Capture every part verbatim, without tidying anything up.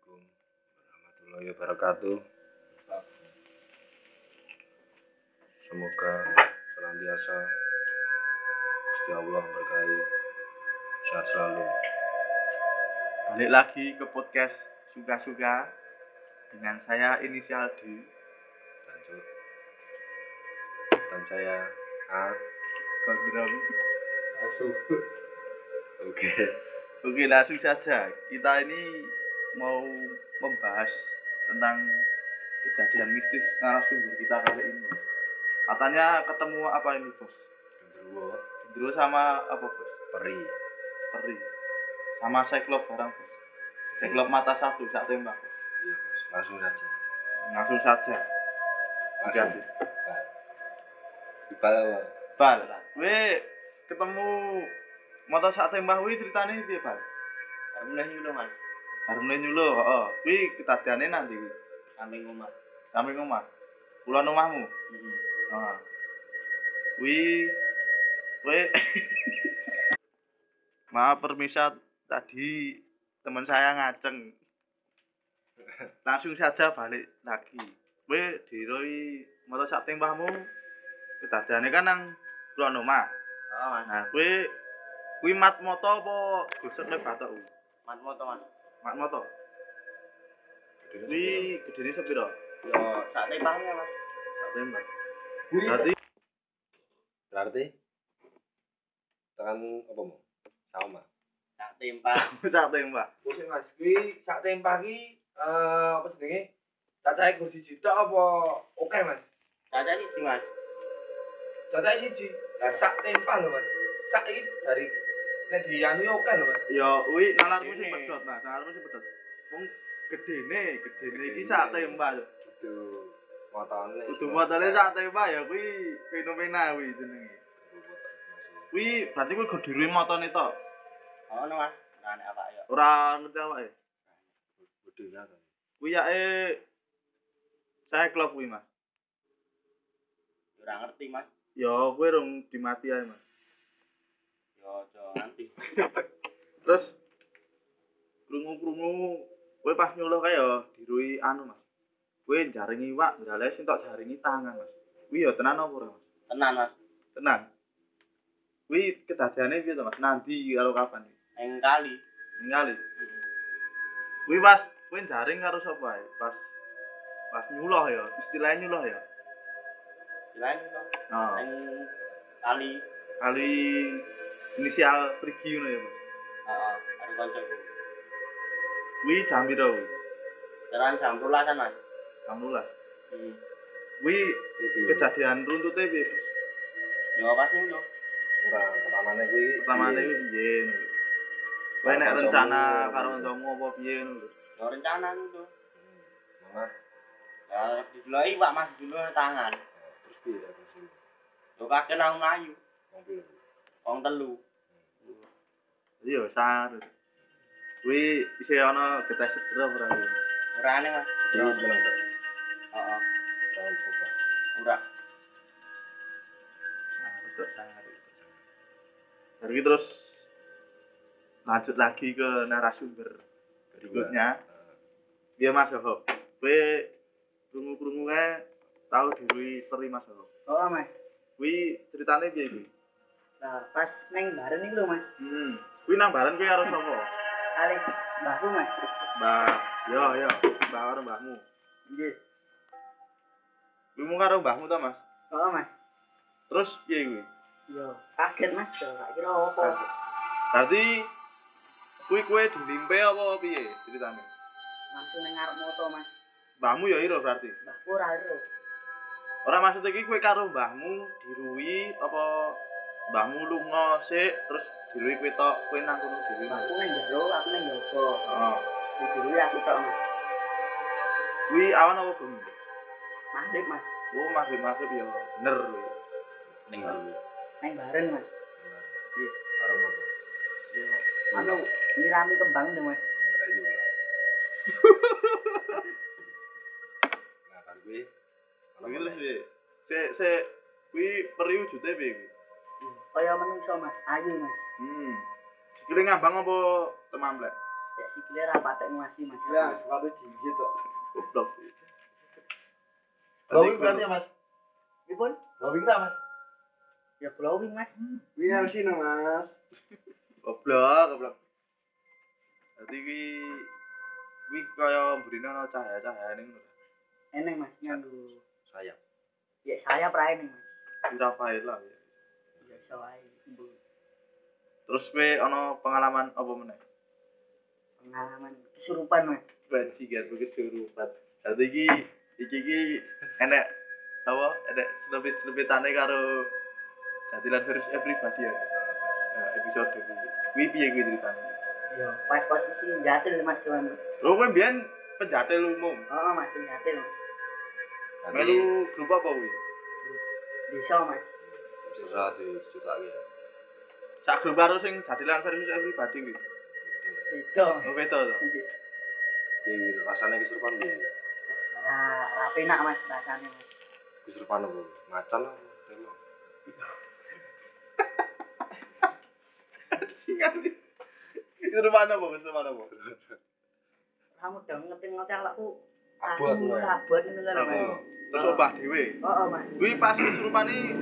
Assalamualaikum warahmatullahi wabarakatuh. Semoga senantiasa Gusti Allah berkahi, sehat selalu. Balik lagi ke podcast Suka-Suka dengan saya inisial D Lanjut. Dan saya A. Gondrong. Asuh. Oke. Oke, langsung saja. Kita ini mau membahas tentang kejadian mistis narasumber kita kali ini. Katanya ketemu apa ini, Bos? Genderuwo. Genderuwo sama apa, Bos? Peri. Peri. Sama Cyclops barang, Bos. Cyclops mata satu, sak tembak, Bos. Iya, Bos. Langsung saja. Langsung saja. Langsung. Dikasih. Bal. Dibal apa? Bal, kowe ketemu mata sak tembak kuwi ceritane piye, Bal? Baru mulai nyulo mas, Baru mulai nyulo, heeh. Kuwi kedadiane nanti kuwi. samping rumah. Samping omah. Kulon omahmu. Mm-hmm. Heeh. Kuwi kowe maaf permisa tadi teman saya ngaceng. Langsung saja balik lagi. Kowe diroi motor sak tembahmu kedadiane kan nang kulon omah. Oh mas, Nah, kowe kuwi mat moto apa gosokne batok kuwi? mat moto mas. Mat moto. Kuwi gedene sepiro? Yo sak tembaknya mas. Sak tembak. Berarti Berarti tekan apa mau? Sama. Sak tembak. sak tembak. Kursi Mas kuwi sak tempah ki eh apa jenenge? Cacahe kursi jidak apa oke Mas? Caca sih mas. Cacahe siji. Lah sak tempah lho Mas. Sak iki dari nek diyani oke lho Mas. Ya kuwi nalarmu sing Gedene. pedhot, Mas. Nalarmu sing pedhot. Wong gedene, gedene iki sak tembak lho. Itu motone. Kudu motone sak tembak ya kuwi fenomena kuwi jenenge. Kuwi berarti kuwi gedhe motone tok. Oh no mas, nane apa ya? Ora ngerti awake. Gedenya kan. Kuwi yake saya klub kuwi, Mas. Ora ngerti mas. Ya kowe rung dimati ae, Mas. Yo jo nanti. Terus krungu-krungu kowe pas nyuluh kae ya dirui anu, Mas. Kowe jaringi iwak, ndale sing tok jaringi tangan, Mas. Kuwi ya tenan apa ora, Mas? Tenan mas. Tenan. Kuwi kedadiane piye to, Mas? Nanti karo kapan iki? Eng kali. Ningali. Kuwi pas kowe jaring karo sapa ae? Pas pas nyuluh ya, istilahnya nyuluh ya. Selain itu, Oh, eng kali. kali inisial pergi ngono ya, Mas. Heeh, ada koncoku. Kuwi jam piro kuwi? Jalan jam rulasan mas. jam sebelas. Hmm. Kuwi kejadian runtute piye, Mas? Yo pas nyulo. Ora pertamane kuwi Pertamane kuwi piye ngono. Kowe nek rencana karo kancamu apa piye ngono lho. Yo rencana itu. Mana? Ya dideloi pak mas dulu tangan. Terus piye terus piye? Yo kakek nang mlayu. Wong piye? Wong telu. Iya, sar. Kuwi isih ana getah segera ora kuwi. Ora aneh mas. Jadi menang tak? Heeh. Tahun berubah. Ora. Sar, tok sar. Jadi terus lanjut lagi ke narasumber berikutnya. Iya Mas Yoho. Kowe krungu-krungu kae tau dirui peri Mas Yoho. Oh mas, Kuwi ceritane piye iki? nah pas neng bareng iki lho mas, Hmm. Kuwi nang balan kowe karo sapa? kali mbahku mas, Mbah. Yo yo, mbah karo mbahmu. nggih, Kuwi mung karo mbahmu ta, Mas? oh mas, Terus piye kuwi? yo kaget mas, yo gak kira apa, Berarti kuwi kowe dilimpe apa piye ceritane? langsung neng ngarep moto mas, Mbahmu ya ira berarti. mbahku ora ero, Ora maksud iki kowe karo mbahmu dirui apa mbahmu lunga sik terus dirui kowe tok kowe nang kono dhewe. mbahku neng jero, aku neng jowo, Heeh. dulu aku tok mas, Kuwi awan apa bengi? maghrib mas, Oh, maghrib-maghrib ya bener kuwi. Ning dulu. neng bareng mas, Iya. Karo moto. yo, anu nyirami kembang deh mas, Ngerayu lah. Nah, kan kuwi Kuwi terus piye? Sik sik kuwi peri wujude piye kuwi? kaya menungso mas, ayu mas, Hmm. Sikile ngambang apa temamplek? Ya sikile ra patek nguasi Mas. Ya, sepatu jinjit kok. Goblok. Glowing berarti ya, Mas? Pripun? Glowing ta, Mas? Ya glowing Mas. Iya sih no, Mas. Goblok, goblok. Dadi kuwi kuwi kaya mburine ana cahaya-cahayane ngono. Eneng Mas nganggo Sayap. ya saya prae ning Mas. Rafael lah. Ya iso wae. Terus kowe ana pengalaman apa meneh? Pengalaman kesurupan Mas. Bajingan kesurupan. Dadi iki iki iki enek apa? Enek selebit-selebitane karo Jatilan versus Everybody ya. Nah, episode kuwi. Kuwi piye kuwi ceritane? Ya pas posisi jatil Mas Wan. Oh, kowe mbiyen penjatil umum. Heeh Mas jatil. Melu grup apa kuwi? Desa Mas. Susah diceritake ya. Sak grup karo sing Jatilan versus Everybody kuwi. Itu. Oh, beda to. Piye rasane kesurupan piye? Ra ra penak Mas rasane Mas. Kesurupan apa? Macan apa? Telo. Singan. Kesurupan apa? Kesurupan apa? Kamu udah ngetin-ngetin aku. Abot, Aku Mas. abot ngono lho Mas. Oh, terus obah dhewe. Heeh Mas. Kuwi pas kesurupan iki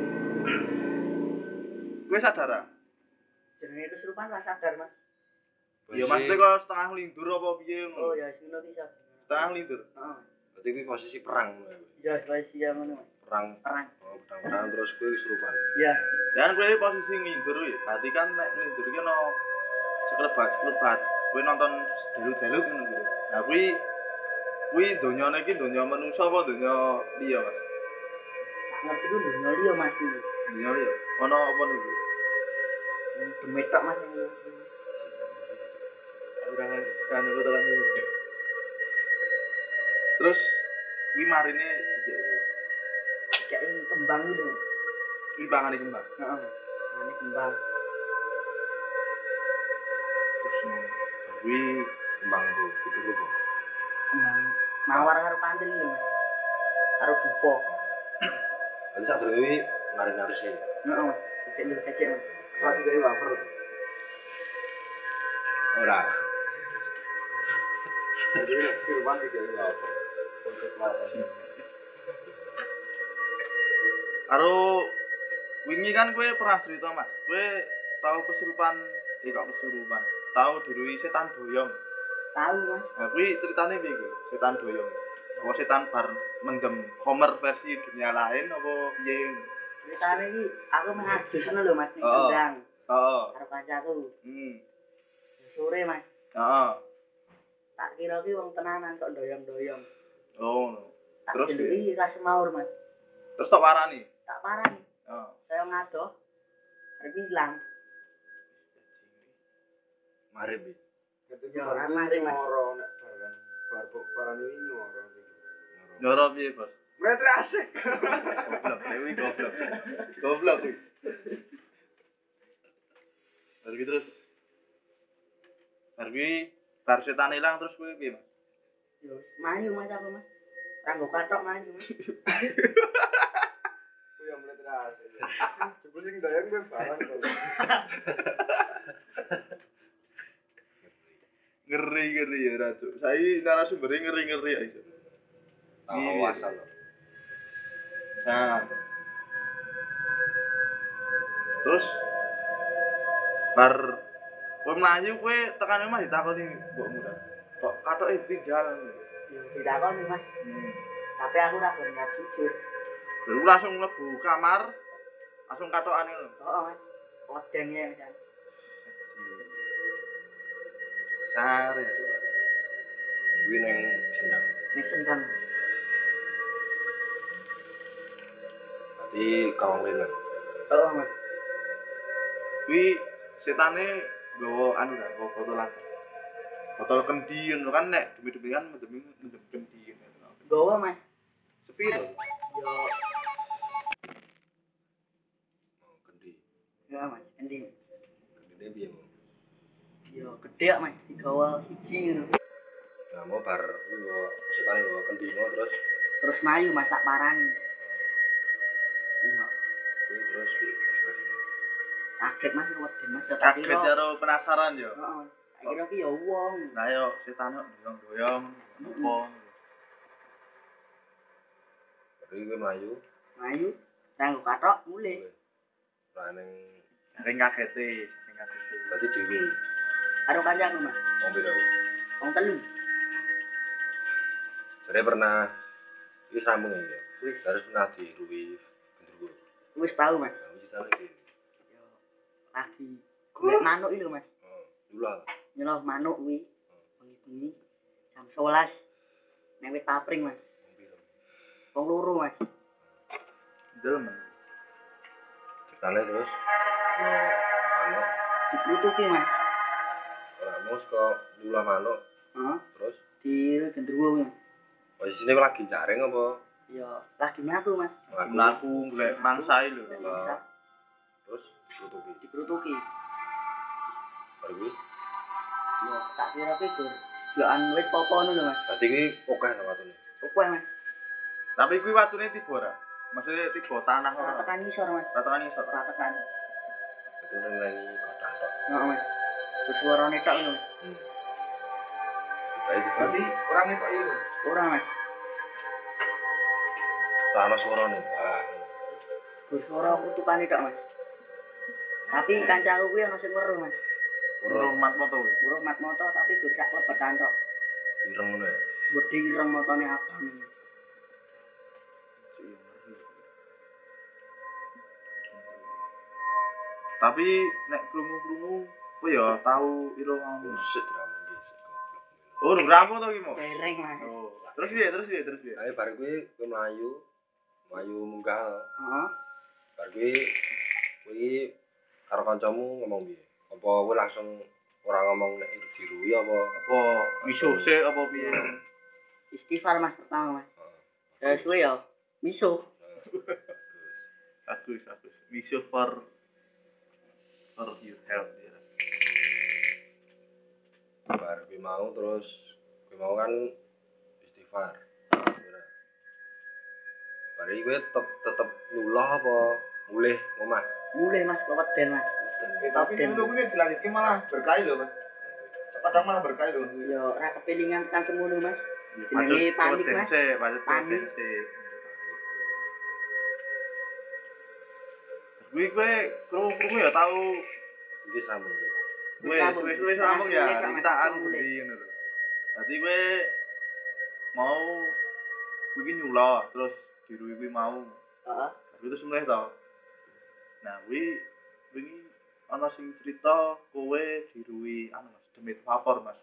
kowe sadar ah? Jenenge kesurupan ra sadar Mas. Ya maksudnya kok setengah lindur apa piye Oh ngono. ya sino bisa. Setengah lindur. Heeh. Berarti kuwi posisi perang ngono ya. Ya spesial ya ngono Mas. Perang. Perang. Oh, perang terus kuwi kesurupan. Ya. Dan kowe posisi ngindur ya. Berarti kan nek ngindur ki ono sekelebat-sekelebat. Kowe nonton delut-delut ngono kuwi. Nah kuwi kuwi donyane iki donya manusa apa donya liya, Mas? Tak ngerti ku dunya liya Mas iki. Donya liya. Ono apa niku? Demit tok Mas yang Ora kan aku tekan niku. Terus kuwi marine dikek. kayak kembang gitu. Kuwi pangane kembang. Heeh. Ane kembang. Terus ngono. Kuwi Kembang apa? Itu apa? Kembang mawar karo pantil lho Mas. Karo dupo. Berarti sak durunge kuwi nari-nari sih. Heeh Mas. Cek lu cek Mas. Masih kayak wafer. Ora. Jadi kesurupan tiga wafer. Untuk lari. Karo wingi kan kowe pernah cerita Mas, kowe tau kesurupan, eh kok kesurupan, tau diruhi setan doyong. Tahu Mas. Nah kuwi ceritane piye kuwi? Setan doyong. Apa setan bar mendem Homer versi dunia lain apa piye? Ceritane iki aku mengadus ngono lho Mas ning Oh. Sendang Heeh. karo kancaku. Hmm. Sore Mas. Heeh. Tak kira ki wong tenanan kok doyong-doyong. Oh. no. Tak Terus jeluki ra semaur Mas. Terus tak parani. Tak parani. Heeh. Saya ngadoh. Arep ilang. Marip. iki. Ketika Ya, baru mari, Mas. ngoro nek barang bar barang ini ngoro. Nyoro piye, Bos? Mereka asik. Goblok, dewi goblok. Goblok kuwi. Terus terus. Bar kuwi bar setan ilang terus kuwi piye, Mas? Yo, mayu Mas aku Mas. Kanggo katok mayu Mas. Ku yang mereka asik. Jebul sing doyan gue barang kok. Ngeri-ngeri ya Ratu. Saya narasumbernya ngeri-ngeri ya iso. Tahu asal lho. Nah. Terus bar kowe mlayu kowe tekan omah ditakoni mbokmu ta. Kok katoke tinggal. Yo didakoni Mas. Hmm. Tapi aku ra gelem jujur. Baru langsung mlebu kamar, langsung katokane lho. Heeh Mas. Oden ya Mas. Sare. Kuwi ning Sendang. Ning Sendang. Berarti kawang lenan. Heeh Mas. Kuwi setane nggawa anu ta, nggawa botolan. Botol kendi ngono kan nek demi-demi kan mendem mendem kendi ngono. Gowo Mas. Sepi to. Yo, Oh, kendi. ya Mas, endi. Kendine piye, Mo? Yo gede Mas, digawa siji ngono. Nah, mau bar nggo setane nggo kendi mau terus Terus mayu Mas tak parani. Iya, kuwi terus piye ekspresine? kaget Mas wedi Mas ya tak Kaget kira. karo penasaran yo. Heeh. Kira ki ya wong. Lah yo setan kok doyong-doyong apa. Bari kowe mlayu. Mlayu nang kathok mulih. Lah ning Saking kagete, saking kagete. berarti dhewe. Karo kancaku Mas. Wong pira? Wong telu. Jadi pernah wis sambung ya. Wis Harus pernah diruwi gendruwo. wis tau Mas. Nah, wis jane iki. Yo lagi golek manuk iki lho Mas. Oh, dula. Nyeloh manuk kuwi. Bengi-bengi jam sebelas nang wit papring Mas. Wong pira? Wong loro Mas. Delem. Ceritane terus yo manuk Dikutuki Mas. ora mus kok dula manuk Heeh. terus Di gendruwo kuwi. posisine kowe lagi jaring apa? Yo lagi mlaku Mas. Mlaku. Mlaku golek mangsa lho. Golek mangsa. Terus tutupi. Dikutuki. Baru kuwi. Yo tak kira ki gur. Jokan wit popo ngono lho Mas. Berarti kuwi akeh ta watune. Opo Mas? Tapi kuwi watune tiba ora? Maksudnya tiba tanah Ora ora? tekan isor Mas. Ora tekan isor. Ora tekan. Itu nengi kotak tok. Heeh Mas. Suarane tok lho. Hmm. Berarti Berarti orang itu itu. Ora Mas. ana suarane. Wah. Gur suara kutukane tok Mas. Tapi kancaku kuwi ana sing weruh Mas. Urung mat moto kuwi. Weruh mat moto tapi gur sak klebetan tok. Ireng ngono ya. Wedi ireng motone abang. Tapi nek krungu-krungu kowe ya tau ira ngono. Musik diramu iki sik goblok. Oh, ngramu to iki, Mo? Dereng Mas. Oh. Terus piye? Terus piye? Terus piye? Ayo bar kuwi kowe mlayu. Mlayu munggah. Heeh. Bar kuwi kuwi karo kancamu ngomong piye? Apa kowe langsung ora ngomong nek diruwi apa? Apa misuh sik apa piye? Istighfar Mas pertama Mas. Terus kuwi ya misuh. Bagus, bagus. Misuh for for your health ya. Bar kuwi mau terus kuwi mau kan istighfar. Bar iki kowe tetep tetep nyulah apa mulih omah? Mulih Mas kok weden Mas. Eh, tapi dulu ini dilanjutkan malah berkali loh Mas. Sepadang malah berkali loh. Ya ora kepilingan tekan semono Mas. Pacet Jenenge panik Mas. pacet Panik. sik. Kuwi kowe krungu-krungu ya tau Iki sambung iki. wis wis wis sambung ya kita anu di ngono lho. Dadi kowe mau kuwi ki nyulah terus diruwi kuwi mau. Heeh. Tapi terus mulai to. Nah, kuwi wingi ana sing cerita kowe diruwi anu Mas, demit vapor Mas.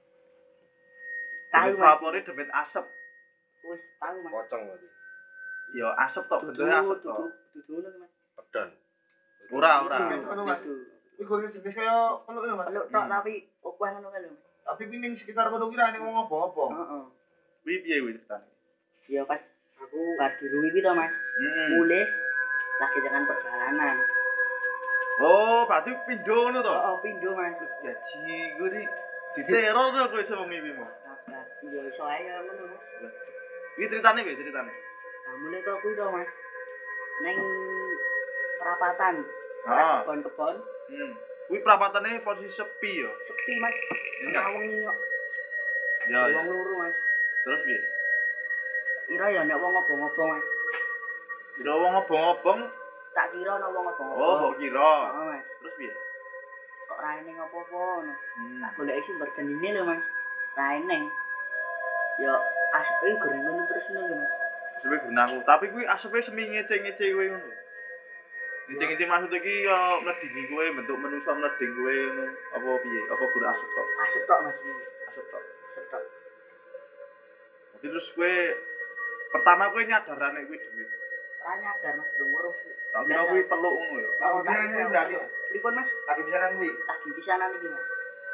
Tahu Demit Mas. vapore demit asap. Wis tahu Mas. Pocong berarti. Ya asap tok, bentuknya asap tok. Dudu dudu ngono Mas. Pedan. Ora, ora. Anu Mas. Iki kuwi jenis kaya peluk lho Mas. Peluk tok tapi opo ngono kae lho Mas. Tapi kuwi ning sekitar kono ki ra ning wong apa-apa. Heeh. Kuwi piye kuwi ceritane? Ya pas aku bar diruwi ki to Mas. Hmm. Mulih lagi dengan perjalanan. Oh, berarti pindho ngono to? Oh, pindho Mas. Gaji gue di diteror to kowe sing wengi iki, Mo. Nah, ya iso ae ya ngono Mas. Kuwi ceritane piye ceritane? Nah, mulai to kuwi to Mas. Neng perapatan. Heeh. Kebon-kebon Hmm. Kuwi perapatane posisi sepi ya. sepi Mas. Enggak. Ngawengi kok. Ya, ya. Wong loro Mas. Terus piye? Kira ya nek wong ngobong-ngobong Mas. Kira wong obong-obong. Tak kira ana wong ngobong-ngobong. Oh, mbok kira. Heeh Mas. Terus piye? Kok ra eneng apa-apa ngono. Hmm. Tak goleki sumber genine lho Mas. Ra eneng. Ya asepe goreng ngono terus ngono lho Mas. Asepe gunaku, tapi kuwi asepe semi ngece-ngece kowe ngono. Ngece-ngece maksud iki ya mledingi kowe bentuk manusa mleding kowe ngono apa piye? Apa gur asep tok? Asep tok Mas. Asep tok. Asep tok. Jadi terus kowe pertama kowe nyadar nek kuwi demit. Ora nyadar Mas durung weruh. Tapi nek kuwi peluk ngono ya. Kalau tak dia kira ini berarti pripun Mas? lagi bisa nang kuwi. Lagi pisanan iki Mas.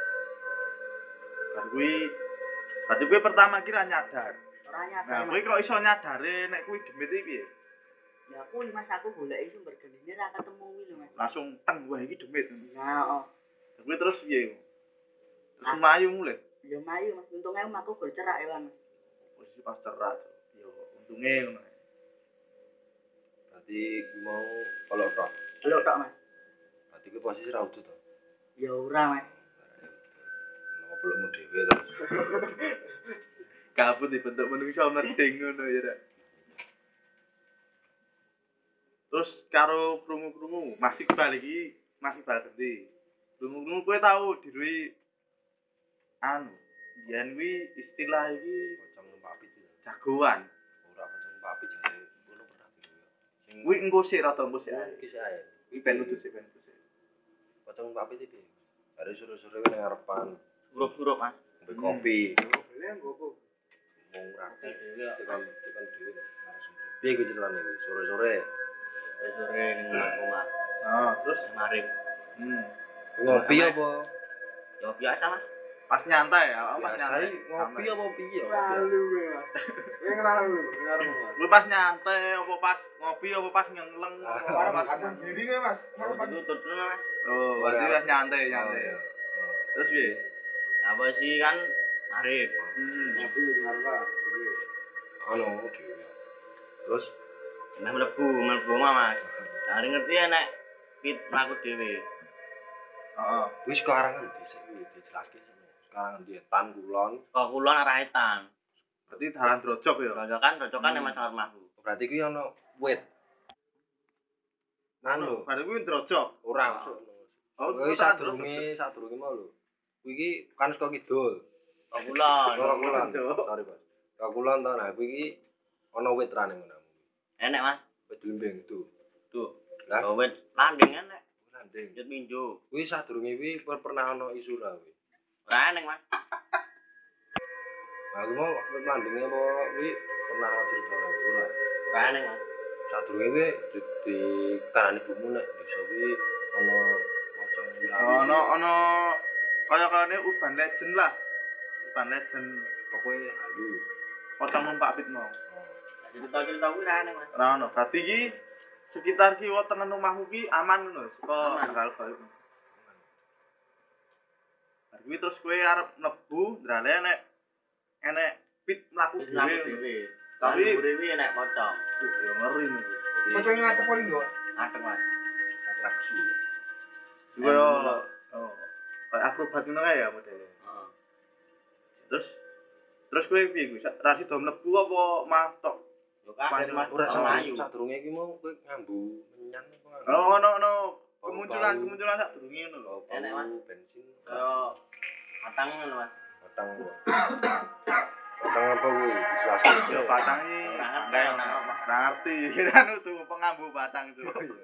Bar kuwi berarti kowe pertama kira nyadar. Ora nyadar. Nah, kowe Mas. kok iso nyadare nek kuwi demit iki piye? Ya kuwi Mas aku goleki sumber genine ra ketemu kuwi lho Mas. Langsung teng wah iki demit. Nah, oh. Kuwi terus piye? Terus mlayu mulih. Ya mayu Mas, untunge aku gol cerak ya Mas. Posisi pas cerak. Yo untunge ngono. Berarti kuwi mau peluk tok. Peluk tok Mas. Berarti kuwi posisi ra udut to. Ya ora Mas. dhewe terus. Kabut dibentuk menungso mending ngono ya Rek. Terus karo krungu-krungu masih balik iki masih balik gede. Krungu-krungu kowe tau dirui anu yen kuwi istilah iki Pocong numpak pit. jagoan. Ora pocong numpak pit jare ngono pernah dhewe. Sing Kuwi engko sik rada engko sik ae. iki sih ae. Kuwi ben lucu sik ben lucu sik. Pocong numpak pit iki. Jare suruh-suruh nang ngarepan Surup-surup Mas. ngombe kopi. Beli nggo apa? Wong rapi Dhewe tekan tekan dhewe narasumber. Piye kuwi ceritane kuwi? Sore-sore. sore ning omah. Nah, terus Terus marip. hmm. Ngopi apa? Ya biasa Mas. Pas nyantai ya, pas Biasa nyantai. ngopi apa piye? Lalu kowe, Mas. Kowe kenal lu, kenal Mas. Kuwi pas nyantai apa pas ngopi apa pas nyengleng apa Para pas katon diri kowe, Mas. Mau ditutup dulu Mas. Oh, berarti pas nyantai Oh, nyantai. iya. Terus piye? Apa sih kan marip. Hmm. Tapi dengar lah. Anu dhewe. Terus Meh mlebu, mlebu omah Mas. Lah ngerti nek pit mlaku dhewe. Heeh. wis sekarang kan dhisik iki dijelaske sini. Sekarang di Tan Kulon. Kok kulon arah etan. Berarti dalan drojok ya. Rojokan, rojokan Hmm. emang sangat mahku. Berarti kuwi ana wit. Anu, bar kuwi drojok. Ora masuk. Oh, Kuwi tak sadurunge sadurunge mau lho. Kuwi iki kan saka kidul. Kok kulon. Ora kulon. Cuk. Sorry, Pak. Ka kulon to nah kuwi iki ana wit rane ngono. Enek Mas. Wit lembeng tuh. Tuh. Lah, Lah wit landing enek. landing. Jut minjo. Kuwi sadurunge kuwi per- pernah ana isu ra kuwi. Ora enek Mas. Aku mau wit landinge apa kuwi pernah ana cerita ora ora. Ora enek Mas. Sadurunge kuwi di, di karane bumu nek desa kuwi ana pocong wilawi. Ono ono kaya-kayane urban legend lah. Urban legend Pokoke halu. pocong numpak pit mau. Cerita-cerita kuwi ora enek Mas. Ora ono. Berarti iki sekitar kiwa tengen omahmu ki aman ngono saka Aman. hal gaib. Bar kuwi terus kowe arep mlebu, ndrale enek enek pit mlaku Wis mlaku dhewe. dhewe. Tapi- Tapi mburi kuwi enek pocong. Uh, ya ngeri nih. Jadi Pocong ngadep paling yo. Ngadeg Mas. atraksi. Juga yo oh, kayak akrobat ngono kae ya modele. Heeh. Terus terus kowe piye kuwi? Ra sida mlebu apa mah tok? Yo kaget Mas. Ora Ora mlayu. sadurunge iki mau kowe ngambu menyan apa ngambu? Oh, ono ono Bau-bau. kemunculan kemunculan sak durunge ngono lho. Bau Enek, Mas. bensin. Kaya matang ngono Mas. Batang apa? Batang apa kuwi? Dijelaskan. Yo batang iki Ora ngerti, kayak ora ora ngerti. ngerti. Kira tuh pengambu batang tuh.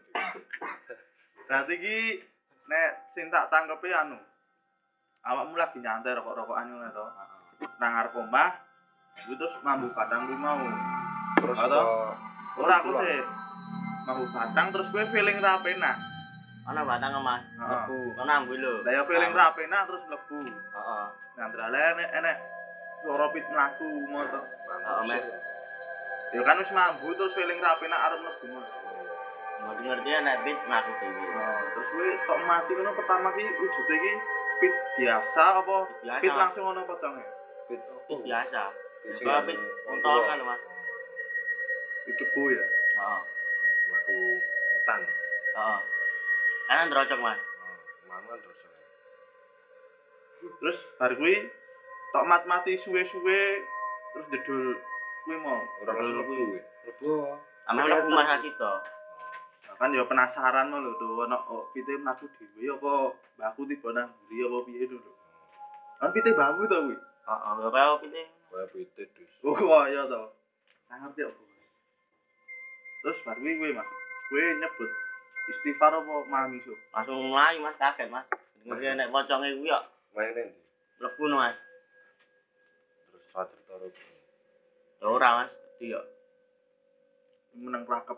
Berarti iki nek sing tak tangkepi anu. Awakmu lagi nyantai rokok-rokokan ngono to. Nang ngarep omah, iku terus mambu batang kuwi mau. Terus Atau? kok Ora aku sih. Mambu batang terus kowe feeling ra penak. Ana batang Mas. Heeh. Mlebu. Kono ambu lho. Lah ya feeling ra penak terus mlebu. Heeh. Ngandrale enek enek suara pit mlaku ngono. Heeh, Mas. Ya kan wis mambu terus feeling ra penak arep mlebu ngono. Ngerti-ngerti enek pit mlaku dhewe. Nah, terus kowe tok mati ngono pertama ki wujude ki pit biasa apa Biasa. pit langsung ono poconge? Pit Pit biasa. Pit Kaya pit unton kan Mas. Pit debu ya. Heeh. Aku etan. Heeh. Kan ndrocok Mas. Mangan terus. Terus bar kuwi tok mat mati suwe-suwe terus jedul kuwi mau. Ora Terus mlebu kuwi. Mlebu. Ame mlebu Mas Asito. Nah, kan ya penasaran lho tuh ono oh, pite mlaku dhewe apa mbahku tiba nang mburi apa piye lho. Kan pite mbahku to kuwi. Heeh, ya kaya pite. Kaya pite dus. Oh kaya to. Nang ngerti apa. Terus bar kuwi kuwi Mas. Kuwi nyebut istighfar apa mamiso? Langsung mlayu Mas kaget Mas. Ngerti enek poconge kuwi kok Maine ndi? mlebu no Mas. Terus ra cerita ro. Ya ora Mas, di yo. Meneng prakep.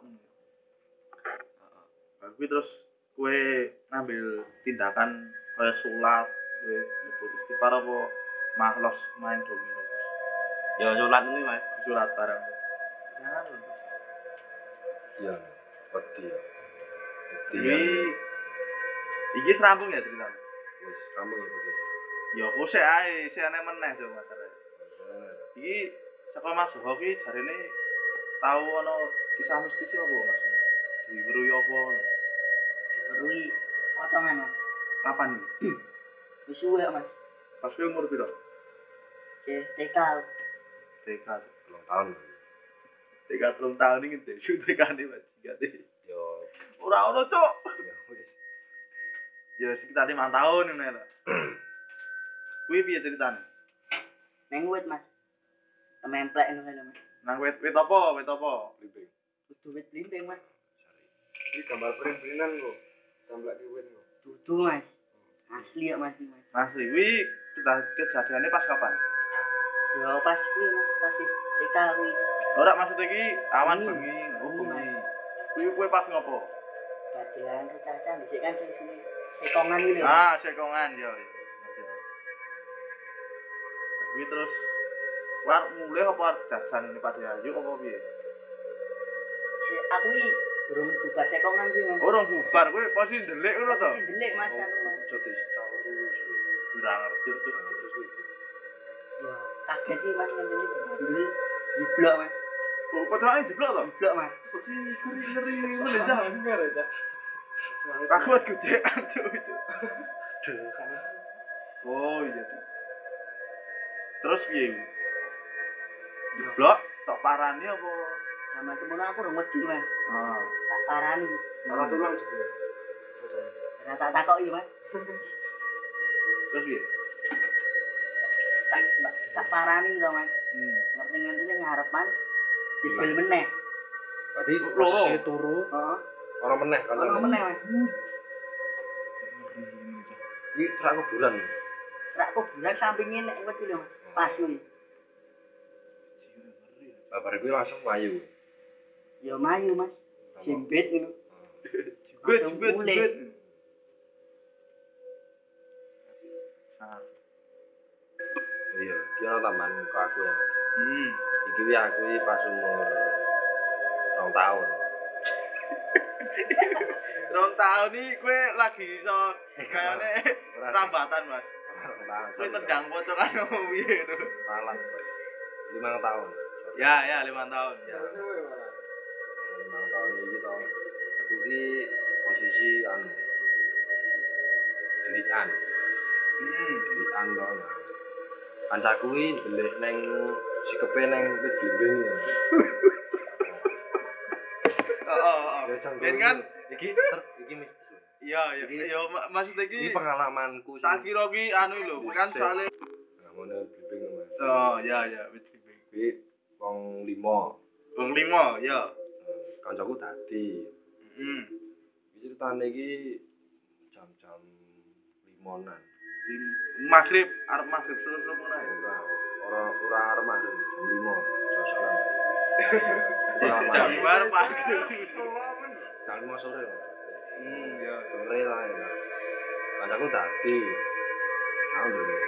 Bar kuwi terus kowe ngambil tindakan kaya salat, kowe nyebut istighfar apa mahlos main domino terus. Ya salat kuwi Mas. Surat barang. Ya, lho. Iya. Wedi ya. Wedi Iki ya. iki serampung ya ceritanya. Wis rampung ya podcast. Ya kok sik ae, sik ana meneh jo masalah. Masalah. Iki saka Mas Soho ki jarene tau ana kisah mistis apa Mas? Diweruhi apa? Diweruhi pocongan Mas. Kapan iki? Wis suwe kok, Mas. Pas kuwi umur piro? Oke, T K. T K. Belum tahun. T K telung tahun iki ndesu T K-ne bajingane. Yo Ora ono, Cuk. ya wis. Ya sekitar lima tahun ngene lho. Kuwi piye ceritane? Neng wit, Mas. Tememplek ngono lho, Mas. Nang wit wit apa? Wit apa? Blimbing. Dudu wit blimbing, Mas. Iki gambar print-printan kok. Templek ki wit kok. Dudu, Mas. Asli ya, Mas. Mas. Asli kuwi kita kejadiannya pas kapan? Ya pas kuwi, Mas, pas T K kuwi. Ora maksud iki awan Hmm. bengi, oh Hmm, bengi. Mas. Kuwi kuwi pas ngopo? Dadelan kecacan dhisik kan sing sini. Sekongan iki lho. Ah, sekongan yo. Ngerti yo. Kuwi terus war mulai apa jajan ini Pak Ayu apa piye? Si aku iki burung bubar sekongan kuwi, Mas. Orang bubar kuwi posisi ndelik ngono to. Si delik, Mas, aku, Mas. Coba caur terus kuwi. Ora ngerti Cuk. Terus kuwi. Ya, kaget sih, Mas, ngene iki bandel. Jiblok, Mas. Kok kocokane jeblok to? Jiblok, Mas. Si ngeri ngeri ngene Cak. Aku wis gojekan Cuk. Oh iya. Terus piye? Jeblok tok parani apa? Sama semono aku ora wedi, Mas. Ah. Tak parani. Malah tulang juga. Ora tak takoki, Mas. Terus piye? Tak tak parani lho, Mas. Hmm. Ngerti-ngerti ngarepan dibel meneh. Berarti Loro. posisi turu Heeh. ora meneh kan. Ono meneh, Mas. Kuwi trak kuburan. Rak kuburan sampinge nek wedi lho, Mas. Pas kuwi. Babar kuwi langsung mayu. Ya mayu, Mas. Jimbit ngono. Jebet Langsung jebet mulih. jebet. Ah. Iya, iki ana tambahan muka aku ya, Mas. Hmm. Iki wi aku iki pas umur rong tahun. Rong tahun iki kowe lagi iso kayane Ora. rambatan, Mas. Rong tahun. Kowe tendang pocokan opo piye to? Malang, Mas. lima tahun. Ya, ya lima tahun. Ya. lima tahun iki to. Aku iki posisi anu. Delikan. Hmm. Delikan to. Nah. Kancaku iki ndelik ning sikepe ning wit blimbing. Heeh, heeh. Ben kan iki ter, iki mistis lho. iya, iya. Iki- Ya mak- maksud Iki iki pengalamanku sih. tak kira ki anu lho, kan soalnya Nah, ngono blimbing, Mas. oh, ya ya wit blimbing. Kuwi wong lima. Wong lima, ya. Kancaku dadi. Heeh. Iki ceritane iki jam-jam limonan. Maghrib, arep maghrib selesai ngono ae. Ora ora ora arep maghrib jam lima. Josokan. Jam bar maghrib. Jam lima sore. Mas. Hmm, ya. Sore lah ya. Kancaku dadi. Aku dulu.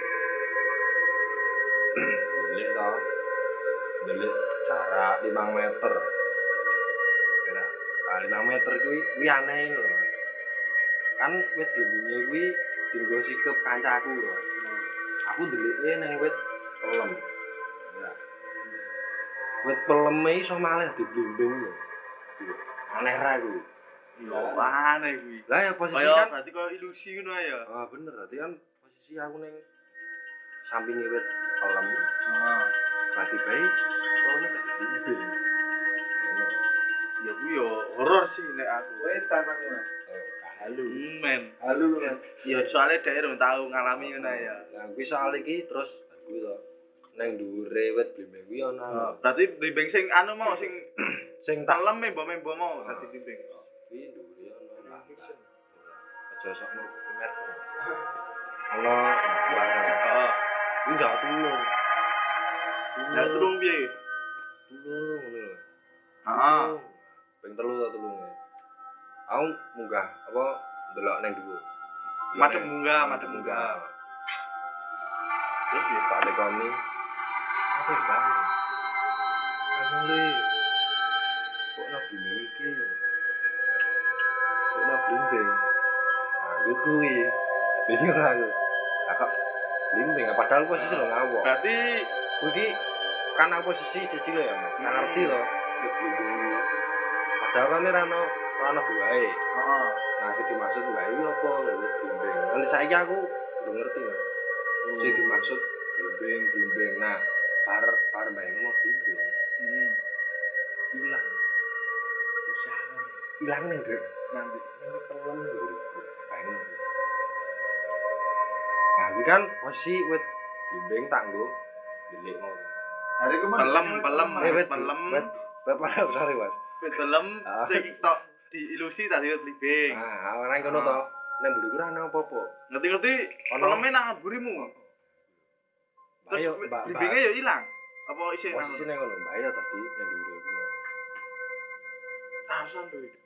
Delik to. Delik jarak lima meter. Kira, ah, lima meter kuwi kuwi aneh lho, Mas. Kan wit blimbinge kuwi dienggo sikep kancaku lho. Aku ndelike ning wit pelem. Ya. Wit peleme iso malah diblimbing lho. Aneh ra kuwi. Yo aneh kuwi. Lah ya posisi Kaya kan berarti kaya ilusi ngono ae ya. ah bener berarti kan posisi aku ning sampinge wit pelem. Heeh. Berarti bae peleme gak diblimbing. Ngono. Ya kuwi yo horor sih nek aku. Wetan Mas Mas. Eh, Halu, men. Halo Mas. Ya soalnya dhek urung tau ngalami ngono ya. Nah, kuwi soal iki terus kuwi to. Nang dhuwure wit blimbing kuwi ana. Berarti blimbing sing anu mau sing Sing tak talem membo-membo mau dadi blimbing. kuwi dhuwure ana. Aja sok merek. Ana barang. Heeh. Kuwi njak tulung. Ya tulung piye? Tulung ngono lho. Heeh. Ping telu ta tulunge. Aku munggah apa ndelok ning dhuwur. Madhep munggah, madhep munggah. Terus ya tak tekoni. Apa ya, Bang? Anu le. Kok ana blimbing iki? Kok ana blimbing? Nah, gue kuwi. Bingung aku. Lah kok blimbing padahal posisi lho ngawok. Berarti Kuwi iki kan aku posisi cicil ya, Mas. Nggak ngerti loh. Wit blimbing. Padahal kan ora ono ora ono buahe. heeh. Nah, sing dimaksud buahe iki apa? Wit blimbing. Nanti saiki aku udah ngerti, Mas. Sing dimaksud blimbing, blimbing. Nah, bar bar bayangno blimbing. Hmm. Ilang. Usaha. Ilang ning Dek. Nanti. Ning pelem nguriku. Bayangno. Nah, iki kan posisi wit blimbing tak nggo delik ngono. Hari ku Pelem, pelem, Eh, wit pelem. wit bapak sorry, Mas. Wit pelem Ah. sing tok diilusi tadi wit blimbing. Nah, ora ngono to. Ning mburiku ora ana apa-apa. Ngerti-ngerti Ono. peleme nang burimu. Terus Ayo, Mbak. blimbinge ya ilang. Apa isih nang? Posisine ngono, bahaya tadi ning dhuwur iku. Tasan to iki.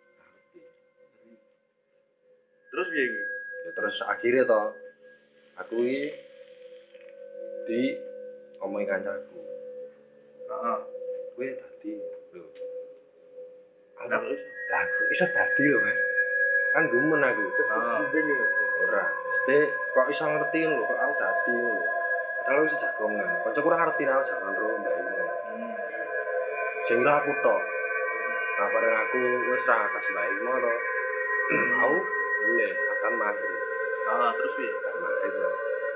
Terus piye kuwi? Ya terus akhirnya to aku iki di omongi kancaku. Heeh. Kowe dadi lho. Ada Aku terus. lah aku iso dadi lho, Mas. Kan gumen aku. Heeh. Ora, mesti kok iso ngerti lho kok aku dadi lho. Padahal wis jagongan. Kancaku ora ngerti nek aku jagongan ro mbak iki. Hmm. Sing kira aku tok. Nah, bareng aku wis ra kas mbak iki to. Aku mulai akan maghrib. Ah, terus piye? Akan maghrib lho.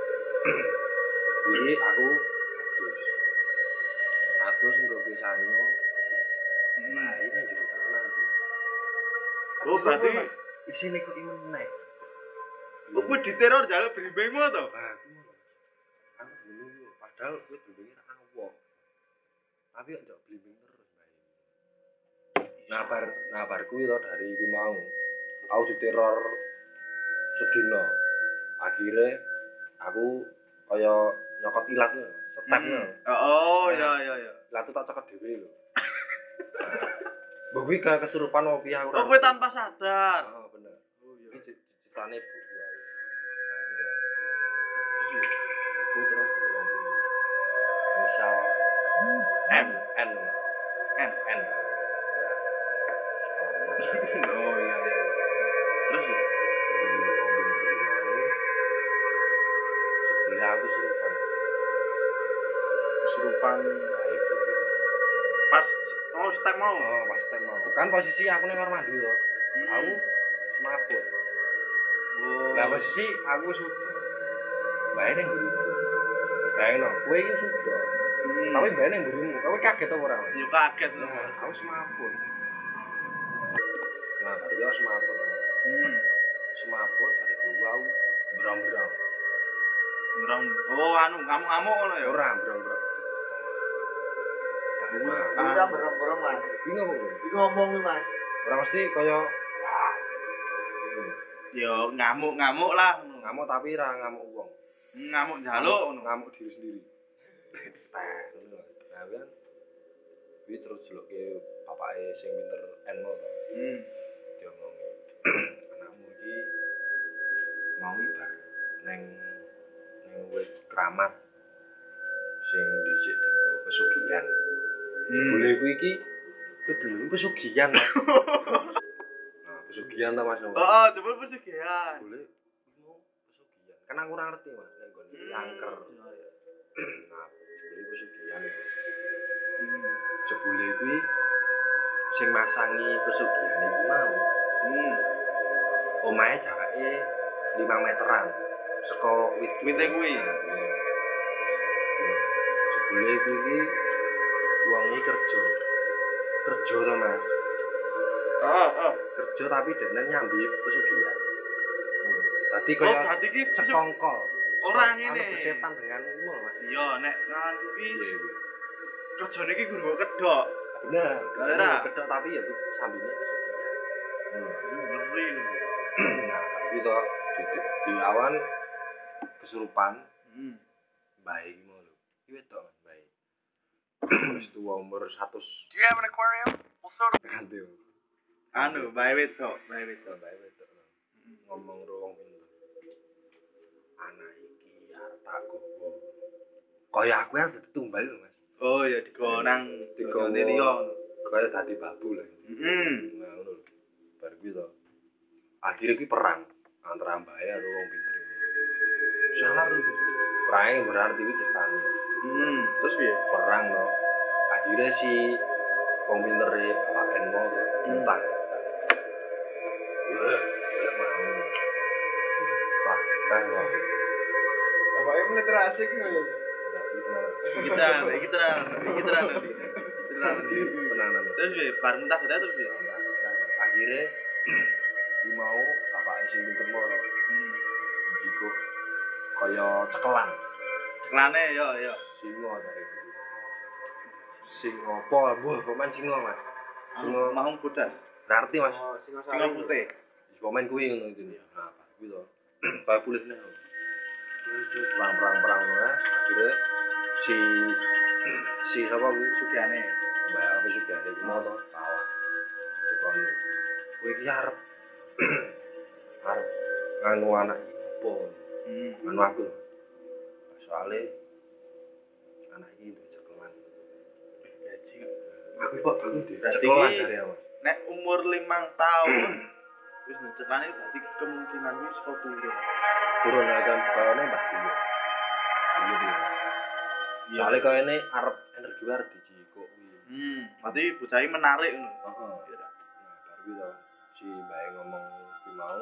Jadi aku atus. Atus nggo pisanyo. Hmm. Nah, ini jero tangan iki. Oh, berarti Isine kok meneh. oh, kowe diteror jaluk blimbingmu to? Ah, aku ngono. Aku bingung yo, padahal kowe blimbinge ra awok. Tapi kok njok blimbing terus, Mbak. Nah, bar nah bar kuwi to dari iki mau. Aku diteror sedina. Akhire aku kaya nyokot ilat lho, setep lho. Oh, ya ya ya. Ilat tak cokot dhewe lho. Mbok kuwi kayak kesurupan opo piye aku Oh, kowe tanpa sadar. Oh, bener. Oh, iya. Iki ceritane buku aku. Aku terus dari wong tuwa. Misal M N N. N. Oh, iya iya. Terus Sebenarnya aku serupan. kesurupan Baik gitu. pas oh step mau. Oh, pas tem mau. Kan posisi aku ning kamar mandi to. Hmm. Aku semaput. Oh. Lah posisi aku sudah. Bae ning mburiku. Bayangno, kowe iki sudah. Hmm. Tapi bae ning mburimu, kowe kaget apa ora? Mas? yo kaget lho. Nah, aku semaput. Nah, baru aku semaput. Hmm. Semaput cari dulu aku berang-berang. Ngerang. Oh, anu ngamuk-ngamuk ngono ya. Ora berang-berang. Nah, Kita berem-berem Mas. iki ngopo? Iki ngomong nih Mas. Ora mesti kaya Yo ngamuk-ngamuk lah ngono. ngamuk tapi ra ngamuk wong. Ngamuk njaluk ngono. Ngamuk diri sendiri. Teh, ngono. Nah, kan kuwi terus jelukke bapake sing pinter enmo to. Hmm. Diomongi. Anakmu iki mau ibar neng neng wit keramat sing dhisik dienggo pesugihan. Jebule kuwi iki kuwi belum pesugihan, Mas. Nah, pesugihan ta Mas. Oh, jebul pesugihan. Jebule mau pesugihan. Kan aku ora ngerti, Mas, nek nggon iki angker. Nah, jebule pesugihan. Hmm. Jebule kuwi sing masangi pesugihan iku mau Hmm. omahe jarake lima meteran saka wit Wite kuwi. Jebule kuwi iki wong iki kerja. Kerja to, Mas. Oh, oh. Kerja tapi dekne nyambi pesugihan. Hmm. Dadi Oh, kaya berarti iki pesug- sekongkol. Ora Anu ngene. bersetan dengan ngono, Mas. Iya, nek kan kuwi Iya, iya. kerjane iki guru kedok. Bener, Bener. kedok tapi ya sambine pesugihan. Hmm. Ngeri lho. Nah, iki to di, di awan kesurupan Hmm. bae iki mau lho. Iki wedok Mas bae. Wis tuwa umur seratus. Do you have an aquarium? Well, so do Ganti. Anu, bae wedok, bae wedok. Bae wedok. Ngomong ro wong pinter. Anak iki arep tak gowo. Kaya aku yang dadi tumbal lho, Mas. Oh, ya digo nang Digo digo liya. Kaya dadi babu lah. Heeh. Nah, ngono lho. Bar kuwi to. Akhire kuwi perang antara Mbak karo wong pinter. Salah lho. Perang berarti kuwi ceritane. Hmm, terus piye? Perang to. Akhirnya si wong pintere bapak Enmo to entah. Wah, wah mau. Wah, kan lho. bapaknya meliterasi ki ngono. Iki tenan, iki tenan, iki tenan. Tenan. Tenanan. Terus piye? Bar mentah gede terus piye? Akhirnya di mau bapaknya sing pinter moro. Hmm. Jiko kaya cekelan. Ceklane yo yo. Singo dari itu. Singo apa? Buah pemain singo mas. Singo Mau bodas. ngerti mas. Singo Singa putih. Pemain kuwi ngono itu ya. Nah, kuwi to. Kayak kulitnya. Terus terus perang perang perang nah. Akhirnya si si siapa kuwi Sugihane. Mbak apa juga ada iki mau to kalah. Dikon. Kuwi iki arep arep nganu anak iki opo? Hmm. Nganu aku. Soale anak iki duwe cekelan. Gaji. Aku kok aku duwe Berarti cekelan iki- jare ya, Mas. Nek umur limang tahun wis ceklane berarti kemungkinan wis kok turun. Turun aja kayane mbah kuwi. Iya dia. Soale kayane arep energi war dijiko kuwi. Hmm, berarti bocah iki menarik ngono. Heeh. Iya. Nah, baru kuwi to si mbak ngomong kuwi mau.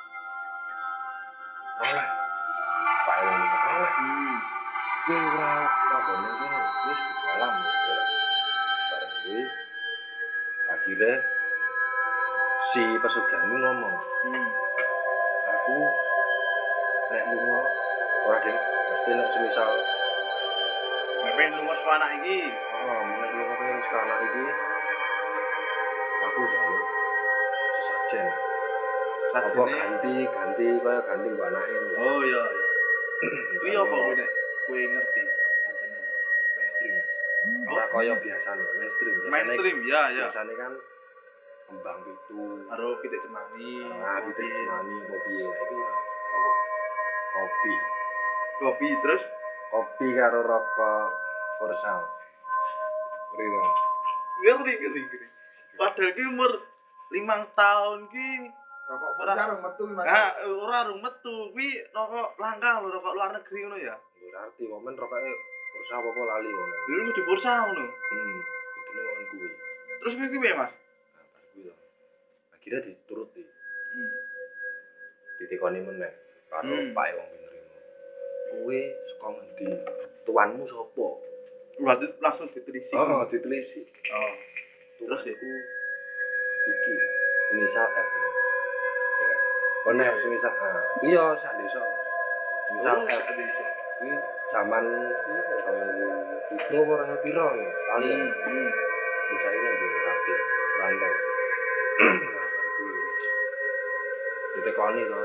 Alah. Pak ngomong alah. Hmm. Kuwi ora mabone kene wis berjalan. Bareng kuwi akhirnya si pesugihan kuwi ngomong, Hmm. aku nek lunga ora ding mesti nek semisal Nek pengen lunga saka anak iki. oh nek lunga pengen saka anak iki aku njaluk sesajen apa Sajene. ganti ganti kaya ganti mbok anake lho. Oh iya iya. Kuwi apa kuwi nek kowe ngerti sajene. mainstream Mas. Ora kaya biasane mainstream biasane Mainstream ya ya. biasane kan kembang pitu Karo pitik cemani. nah pitik cemani apa piye nah itu ora kopi Kopi terus kopi karo rokok Forsal. Rino. ngeri ngeri ngeri. Padahal ki umur limang tahun ki Rokok Ora. sarung metu Mas. ah ora rung metu kuwi rokok langka lho rokok luar negeri ngono ya. Ora arti momen rokoke Forsal apa lali ngono. Dulu kudu bursa ngono. Hmm, kudune on kuwi. Terus kuwi ki piye, Mas? Nah, bar kuwi to. Akhirnya dituruti, Hmm. ditekoni meneh karo Hmm. Pak wong penerima. Kowe saka ngendi? Tuanmu sapa? Berarti langsung ditelisik. Oh, ditelisi. Oh. Terus iku iki inisial F. Ya. Oh nek semisal ah, iya sak desa. Misal F ditelisik. kuwi zaman itu orang piro ya? Kali Hmm. Hmm. bisa ini di Rati, Rantau. Nah, baru kuwi. Ditekoni to.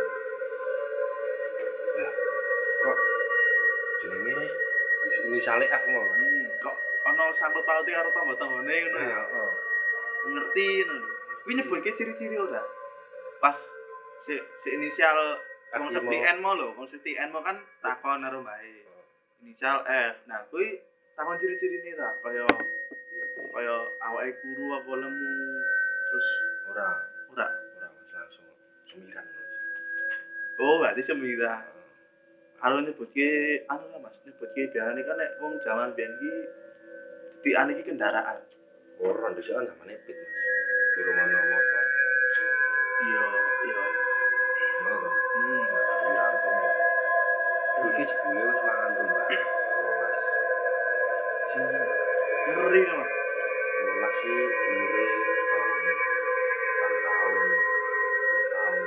Ya, kok jenenge inisiale F mau. Hmm. Kok ana sangkut pauti karo tangga-tanggane ngono ya. Heeh. Ngerti ngono. Kuwi nyebutke ciri-ciri ora? Pas si, si inisial konsep F T lima. N mau lho, konsep T N mau kan takon karo mbae. Inisial F. Nah, kuwi takon ciri-cirine ta, kaya kaya awake kuru apa lemu terus Ora, ora. ora Mas langsung semiran Mas. Oh, berarti semira. Heeh. Karo nyebutke anu lah Mas, nyebutke biasane kan nek wong jaman biyen ki tikan iki kendaraan. Ora dhisik kan zamane pit Mas. Durung ono motor. Iya, iya. Ngono. Hmm. Di Rantau. Iki jebule wis mangan tuh Mbak. Rolas. Sing ngeri lho Mas. Rolas sih umure tahun empat tahun, enam tahun.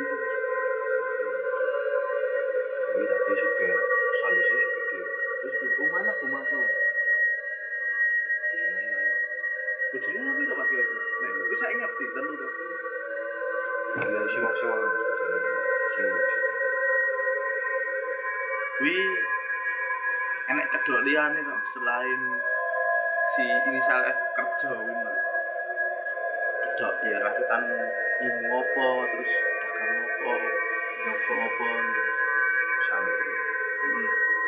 Tapi tadi juga salusnya juga dia. Terus di rumah lah rumah tuh. Bojone ayo. Bojone apa itu Mas kaya? Nek kuwi sak ngerti telu to. Ya sih maksimal bojone. Sing bisa. Kuwi enek cedok liyane to selain si inisial F kerja kuwi Mas. Cedok ya rakitan ilmu apa terus dagang apa, nyoba apa. Sampai itu. Hmm.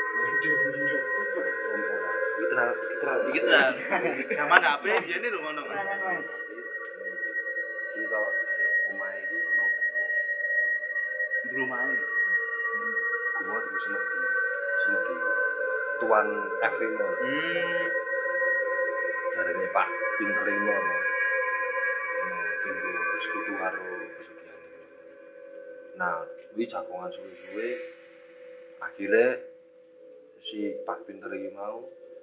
Iki tenan iki tenan. Iki tenan. Zaman H P biyen lho ngono Mas. Tenanan, Mas. Kita omahe iki ono guwa. Di rumahe. Hmm. Guwa terus semedi. Semedi tuan F lima. Hmm. Jarane Pak pinter lima. Tunggu bersekutu karo pesugihan iki. Nah, kuwi jagongan suwe-suwe akhirnya si Pak pinter iki mau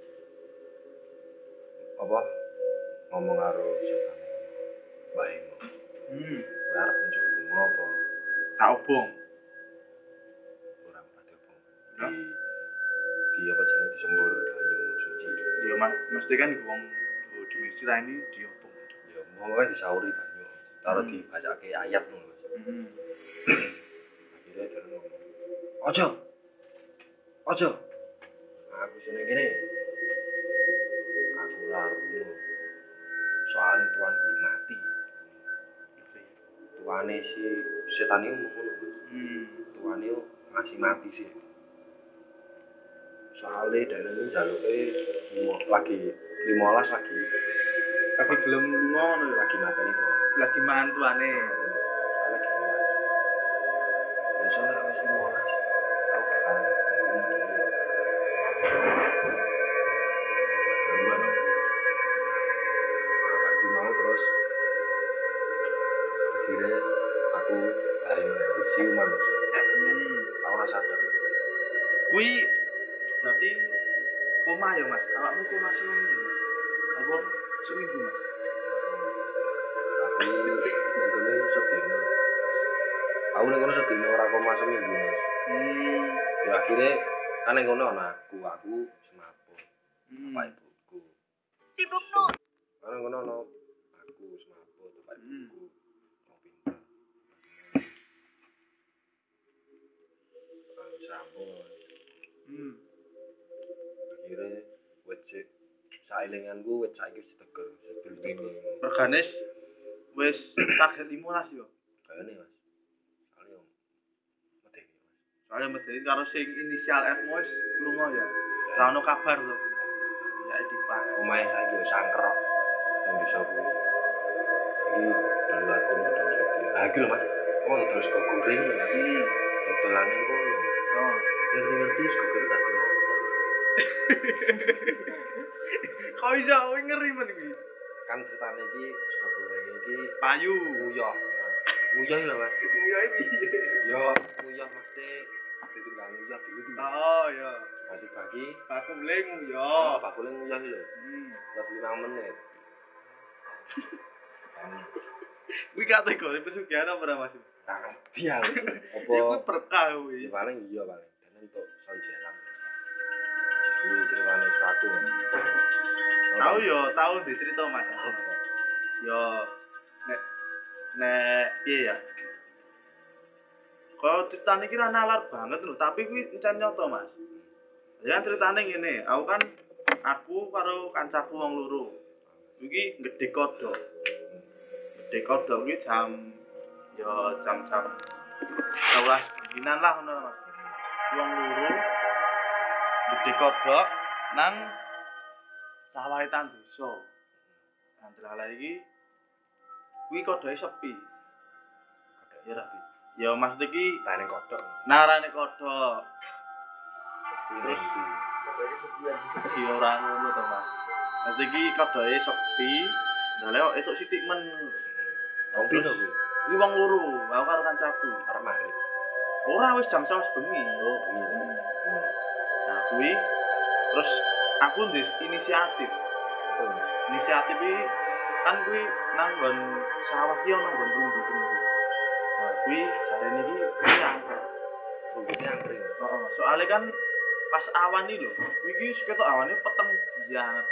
apa ngomong karo siapa Mbak Emo. Hmm. Kowe arep njuk lunga apa Tak obong. ora pati apa. Di di apa jenenge disembur banyu suci. Ya mas, mesti kan wong do dimisi ra ini diobong. Ya mau disauri banyu. Taruh Hmm. dibacake ayat ngono. Hmm. Akhirnya dia ngomong, ojo, ojo, aku sini gini, aku lalu, soalnya tuan guru mati, tuane si setan ini ngomong, Hmm. tuane masih mati sih, soalnya dari ini jalurnya lagi limolas lagi, Tapi belum lunga ngono ya. lagi mati nih tuan, Lagi mantuane. soalnya lagi limolas, dan soalnya habis limolas, aku bakal ngomong dulu. Duluan dong. Nah, waktu mau terus akhirnya aku dari siuman maksudnya. Hmm. Aku rasa sadar. Kui berarti koma ya mas? Awakmu koma seminggu ya mas? Apa seminggu mas? Aku nengkono sedino. Aku nengkono sedino ora koma seminggu mas. Hmm. Ya akhirnya kan nengkono ana aku, aku semaput. Hmm. Bapak ibuku. Sibuk nu. Kan nengkono ana aku semaput, bapak Hmm. ibuku. Wong pinter. Aku sambung. Hmm. Akhirnya wet cek sailinganku wet saiki wis teger sebelum ini Organis wis target limolas yo. kayaknya mas soalnya om medeni mas Soalnya medeni karo sing inisial F wis lunga ya. Ra ono kabar to. Ya dipangan. omahe saiki wis sangkrok ning desa kuwi iki dulu aku udah sedih ah iki lho mas oh terus kok goreng ya Hmm. dodolane kono Oh. ngerti-ngerti sego goreng tak di motor Kok iso kowe ngeri men iki? kan ceritane iki sego goreng iki Payu. nguyah nguyah lho mas Iya iki. yo nguyah mesti ditinggal nguyah dulu tuh Oh ya. bagi-bagi Aku bling yo. oh bakule nguyah iki lho Hmm. buat lima menit kan Kuwi kategori pesugihan apa ora Mas? tangan dia Iku apa berkah ya kuwi. paling iya paling dan untuk son jalan terus kuwi ceritane sepatu Tahu yo, tahu di cerita Mas. apa Yo nek nek piye ya? Kalau ceritane iki ra nalar banget lho, tapi kuwi encen nyoto Mas. Ya ceritane ngene, aku kan aku karo kancaku wong loro. Iki gedhe kodhok. Gedhe kodhok kuwi jam yo jam-jam sebelas dinan lah ngono Mas. Wong loro gedhe kodhok nang sawah etan desa. Nang dalah iki kuwi kodhoke sepi. Ya ra. Ya maksud iki tane kodok narane kodhok. terus Iki ora ngono to Mas. Maksud iki kodhoke sepi. Dalah kok etuk sithik men. wong piro kuwi Kuwi wong loro, aku karo kancaku. arep maghrib Ora wis jam sebelas bengi. oh bengi hmm Nah, kuwi terus aku ndis inisiatif. apa mas Inisiatif iki kan kuwi nang nggon sawah ki ono nggon rumbu-rumbu. Nah, kuwi jarene iki kuwi angker. rumputnya angkring Heeh, soalnya kan pas awan iki lho, kuwi iki ketok awane peteng banget.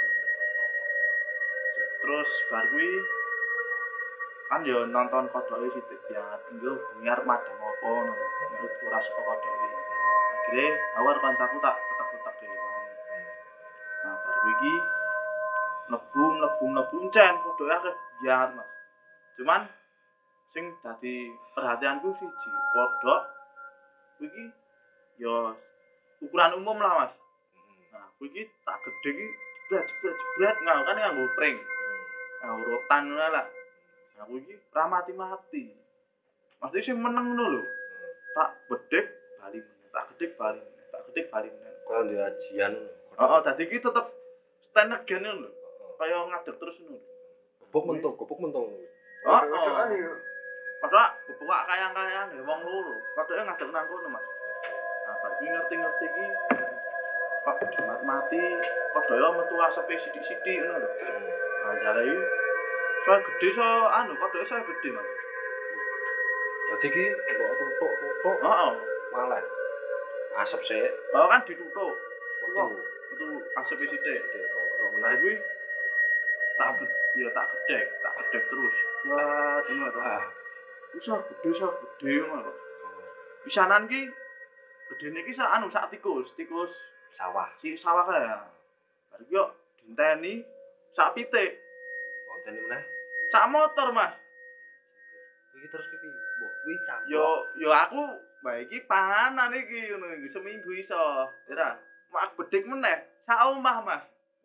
Terus bar kuwi kan yo nonton kodoke sithik banget, engko bengi arep madang apa ngono. Menurut ora saka kodoke. Akhire awar kancaku tak ketek-ketek dhewe. Nah, bar kuwi iki mlebu mlebu mlebu encen kodoke akeh banget, Mas. Cuman sing dadi perhatianku siji, kodok kuwi iki yo ukuran umum lah Mas. Nah, kuwi iki tak gedhe iki jebret jebret jebret nganggo kan nganggo pring. Nganggo rotan ngono lah. Nah, kuwi iki ra mati-mati. Maksudnya sing meneng ngono lho. Tak bedhek bali meneh, tak gedhek bali meneh, tak gedhek bali meneh. kok ndek ajian Heeh, dadi iki tetep stand again ngono lho. Kaya ngadeg terus ngono. gobok mentung gobok mentung Heeh. Padahal bebek kayang-kayang ya wong loro. Padahal ngadeg nang kono, Mas. Nah, bar kuwi ngerti-ngerti iki Pak Dimat mati kodhoke metu asepe sithik-sithik ngono lho. Nah, jare iki soal gede so anu kodhoke soal gede Mas. Berarti ki kok tutuk-tutuk Heeh. malah asap sik. Oh kan ditutuk. Metu. Itu asepe sithik. Kok Nah kuwi tak ya tak gedek, tak gedek terus. Wah, ngono to. Ah. Usah gede sak gede ngono. Pisanan ki gedene ki sak anu sak tikus, tikus Sawah. si sawah kae. Bar iki yo dinteni sak pitik, Wonten meneh. sak motor, Mas. Iki terus ki piye? Mbok kuwi campur. Yo yo aku bae iki panganan iki ngono seminggu iso. Ora, mak bedhik meneh sak omah, Mas.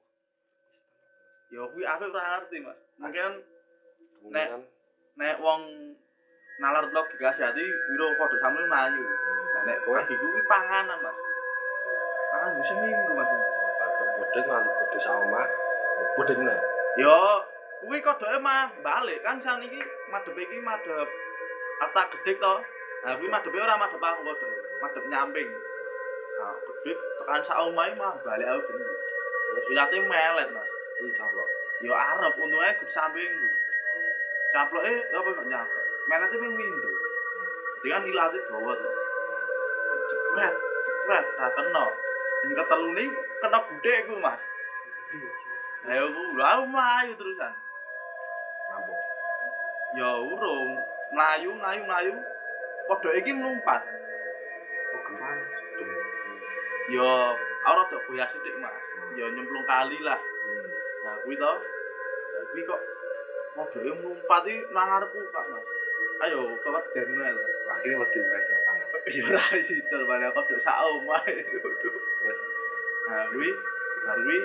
Yo kuwi aku ora ngerti, Mas. Mungkin Nek nek wong nalar logika sehati wiro padha sampe mlayu. Lah nek kowe iki kuwi panganan, Mas. Pangan wis seminggu, Mas. batuk bodhek ngantuk bodhek sak omah. Bodhek meneh. Yo kuwi kodoke mah balik kan saniki madhep iki madhep arta gedhek to. Nah kuwi madhepe ora madhep aku kodok, madhep nyamping. Nah, gedhek tekan sak omahe mah balik aku geni. Terus ilate melet, Mas. Kuwi camplok. Yo arep untunge gur sampingku. Caploke apa kok nyaplok. Melete ping pindho. Dadi kan ilate dawa to. Cepret, cepret tak kena. Sing ketelune kena gudhekku, Mas. Ayo ku lha mlayu terusan. Rampung. Ya urung, mlayu mlayu mlayu. Kodhoke iki mlumpat. Oh, gempan. Ya ora tok goyah sithik, Mas. Ya nyemplung kali lah. Hmm. Nah kuwi to. Lah kuwi kok kodhoke mlumpat iki nang ngarepku, Pak, Mas. Ayo, kok dene lho. Wah, iki wedi wis pangan. Ya ora situ bane kodhok sak omah. Terus Nah kuwi bar kuwi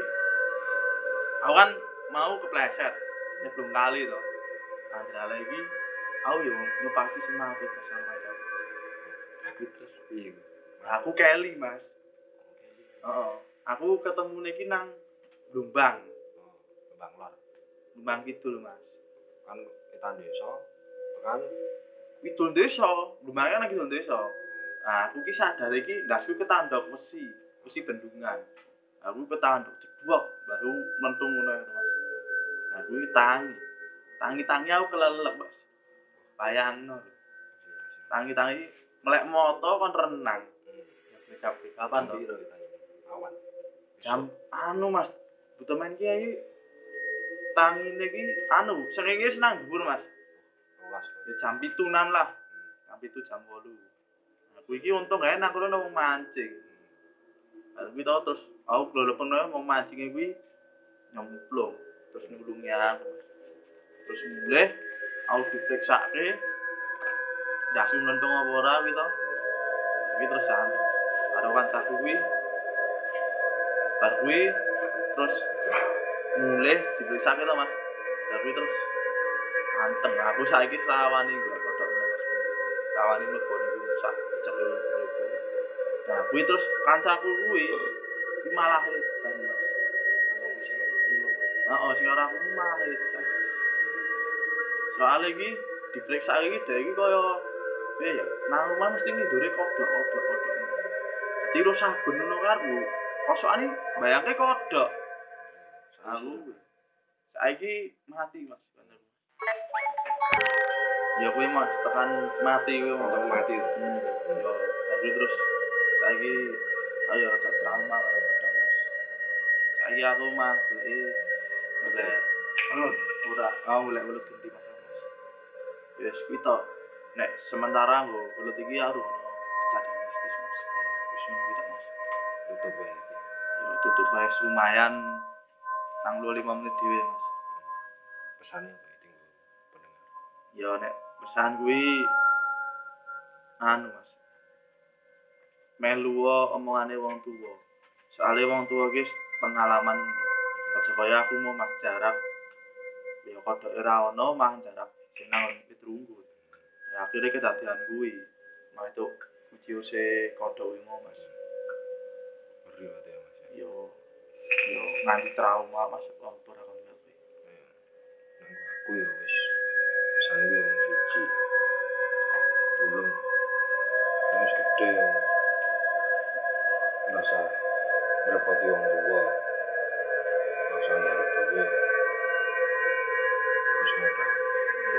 aku kan mau kepleset nyemplung kali to. Andrale iki aku yo ngepasi semangat bersama kanca. tapi terus piye? Nah, aku keli, Mas. Heeh. Aku ketemu niki nang Lumbang, Oh, Kembang Lor. Lumbang Kidul, Mas. Kan kita desa kan Kidul desa, Lumbang kan nang Kidul desa. Nah, aku ki sadar iki ndasku ketandok wesi, wesi bendungan. Aku ketandok jedwok baru mentung ngono ya, Mas. Nah, kuwi tangi. Tangi-tangi aku kelelep, Mas. Bayangno. Tangi-tangi melek moto kon renang. Kabeh kapan to? piro kita awan. Jam anu Mas, butuh main kiai tangine iki anu, srengenge senang dhuwur Mas. Rolas. Ya jam pitunan lah. Jam pitu jam wolu. Aku iki untung gawe nang kono wong mancing. Lah kuwi to terus aku glelepen wae wong mancinge kuwi nyemplung terus nulungi aku. Terus mulai aku diperiksake ndase mentung apa ora kuwi to. Kuwi terus anu. Karo kancaku kuwi bar kuwi terus mulai diperiksake to Mas. Bar kuwi terus anteng. Aku saiki selawani kok kodhok Mas. Kawani mlebu niku sak cek mlebu. Nah, kuwi terus kancaku kuwi iki malah edan Mas. Heeh, sing ora aku malah edan. Soale iki diperiksa iki dhek iki kaya piye ya? Nang omah mesti ngidure kodhok-kodhok-kodhok. Dadi ro saben ngono karo kosokane bayangke kodhok. Aku saiki mati Mas. Ya kuwi Mas, tekan mati kuwi Untuk mati. Hmm. Yo, tapi terus saiki ayo rada trauma karo kodhok Mas. Saiki aku mah goleki golek welut ora aku golek welut genti Mas. Wis kuwi to. Nek sementara nggo welut iki aku kejadian mistis Mas. Wis ngono kuwi to Mas. Tutup wae iki. Yo tutup wae lumayan nang lima menit dhewe Mas. Pesane apa iki pendengar? Yo nek pesan kuwi anu Mas. Melu omongane wong tuwa. Soale wong tuwa ki pengalaman aja kaya aku mau mas jarak. Ya kodhoke ora ono mah jarak sing nang Pitrunggut. Ya akhire kedadian kuwi. Mah itu ujiose kodhok kuwi mau Mas. Ngeri ate ya Mas. Yo yo nganti trauma Mas apa ora kon ngerti. Nang aku ya wis pesane yo siji. Tulung. Wis gede yo. Rasa repot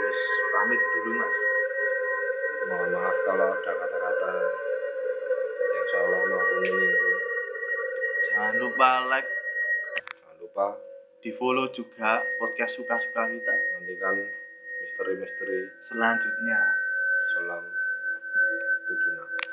Wes pamit dulu Mas. Mohon maaf kalau ada kata-kata yang salah maupun menyinggung. Jangan lupa like, Jangan lupa di follow juga podcast suka-suka kita nantikan misteri-misteri selanjutnya. selam tujuh enam.